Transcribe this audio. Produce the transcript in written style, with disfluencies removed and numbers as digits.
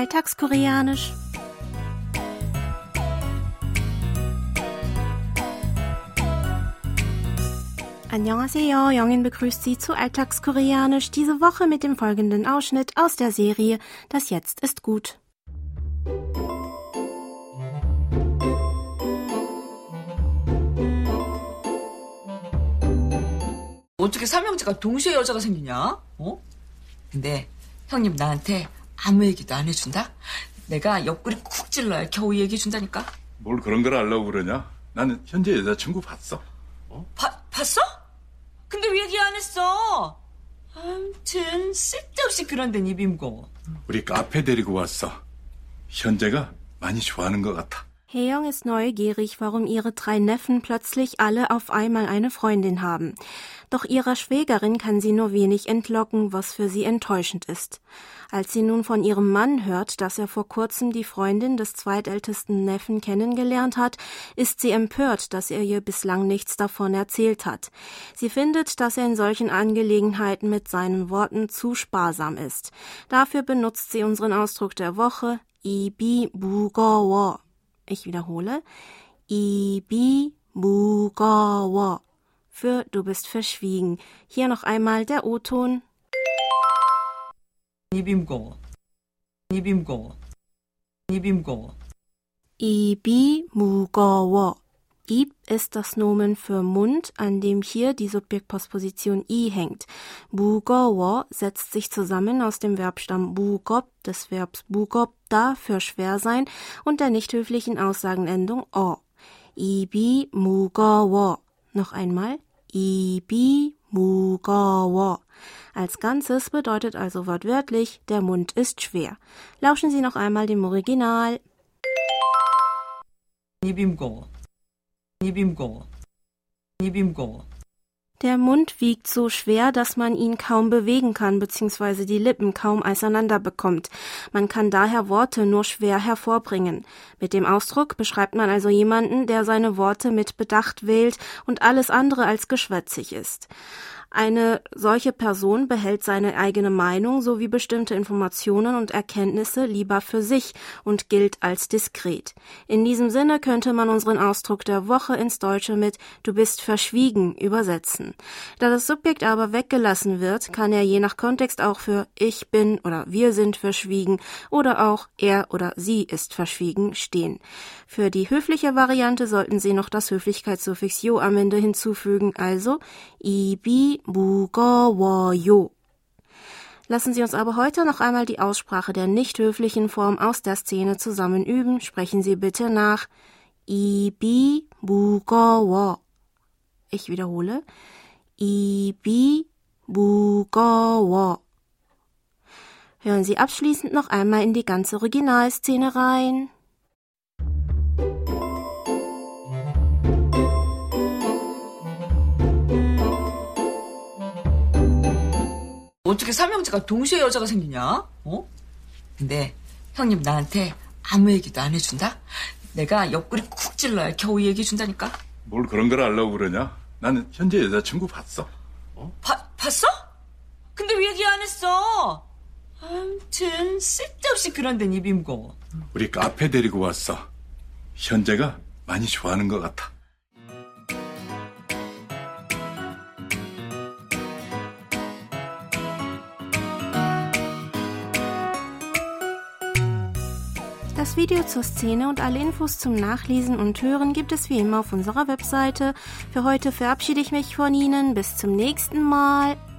Alltagskoreanisch. Annyeonghaseyo, Jongin begrüßt Sie zu Alltagskoreanisch, diese Woche mit dem folgenden Ausschnitt aus der Serie Das Jetzt ist gut. 어떻게 삼형제가 동시에 여자가 생기냐? 근데 형님 나한테 아무 얘기도 안 해준다? 내가 옆구리 쿡 찔러야 겨우 얘기해 준다니까? 뭘 그런 걸 알려고 그러냐? 나는 현재 여자친구 봤어. 봤어? 근데 왜 얘기 안 했어? 아무튼 쓸데없이 그런 데는 입임고. 우리 카페 데리고 왔어. 현재가 많이 좋아하는 것 같아. Hae-young ist neugierig, warum ihre 3 Neffen plötzlich alle auf einmal eine Freundin haben. Doch ihrer Schwägerin kann sie nur wenig entlocken, was für sie enttäuschend ist. Als sie nun von ihrem Mann hört, dass er vor kurzem die Freundin des zweitältesten Neffen kennengelernt hat, ist sie empört, dass er ihr bislang nichts davon erzählt hat. Sie findet, dass er in solchen Angelegenheiten mit seinen Worten zu sparsam ist. Dafür benutzt sie unseren Ausdruck der Woche, 입이 무거워. Ich wiederhole, 입이 무거워. Für du bist verschwiegen. Hier noch einmal der O-Ton. 입임고. 입임고. 입임고. 입이 무거워. Ib ist das Nomen für Mund, an dem hier die Subjektpostposition i hängt. 무거워 setzt sich zusammen aus dem Verbstamm 무겁, des Verbs 무겁다 für schwer sein und der nicht höflichen Aussagenendung o. 입이 무거워. Noch einmal. 입이 무거워. Als Ganzes bedeutet also wortwörtlich, der Mund ist schwer. Lauschen Sie noch einmal dem Original. 입임고. 입임고. 입임고. Der Mund wiegt so schwer, dass man ihn kaum bewegen kann bzw. die Lippen kaum auseinander bekommt. Man kann daher Worte nur schwer hervorbringen. Mit dem Ausdruck beschreibt man also jemanden, der seine Worte mit Bedacht wählt und alles andere als geschwätzig ist. Eine solche Person behält seine eigene Meinung sowie bestimmte Informationen und Erkenntnisse lieber für sich und gilt als diskret. In diesem Sinne könnte man unseren Ausdruck der Woche ins Deutsche mit Du bist verschwiegen übersetzen. Da das Subjekt aber weggelassen wird, kann er je nach Kontext auch für Ich bin oder Wir sind verschwiegen oder auch Er oder Sie ist verschwiegen stehen. Für die höfliche Variante sollten Sie noch das Höflichkeitssuffix yo am Ende hinzufügen, also 입이 무거워요. Lassen Sie uns aber heute noch einmal die Aussprache der nicht höflichen Form aus der Szene zusammen üben. Sprechen Sie bitte nach. 입이 무거워. Ich wiederhole. 입이 무거워. Hören Sie abschließend noch einmal in die ganze Originalszene rein. 어떻게 삼형제가 동시에 여자가 생기냐? 근데 형님 나한테 아무 얘기도 안 해준다? 내가 옆구리 쿡 찔러야 겨우 얘기해 준다니까? 뭘 그런 걸 알려고 그러냐? 나는 현재 여자친구 봤어. 봤어? 근데 왜 얘기 안 했어? 아무튼 쓸데없이 그런 데는 입임고. 우리 카페 데리고 왔어. 현재가 많이 좋아하는 것 같아. Das Video zur Szene und alle Infos zum Nachlesen und Hören gibt es wie immer auf unserer Webseite. Für heute verabschiede ich mich von Ihnen. Bis zum nächsten Mal.